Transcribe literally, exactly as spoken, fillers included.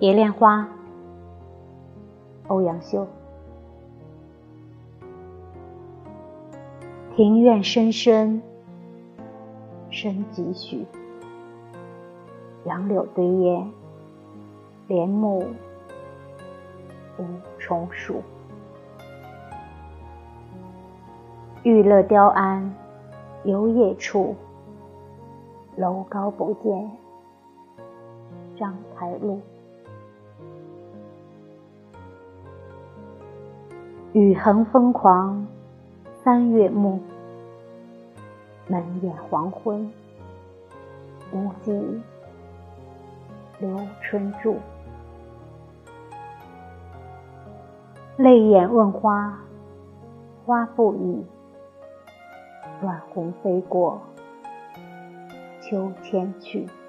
蝶恋花，欧阳修。庭院深深深几许，杨柳堆烟，帘幕无重数。玉勒雕鞍游夜处，楼高不见章台路。雨横风狂三月暮，门掩黄昏，无计留春住。泪眼问花，花不语，乱红飞过秋千去。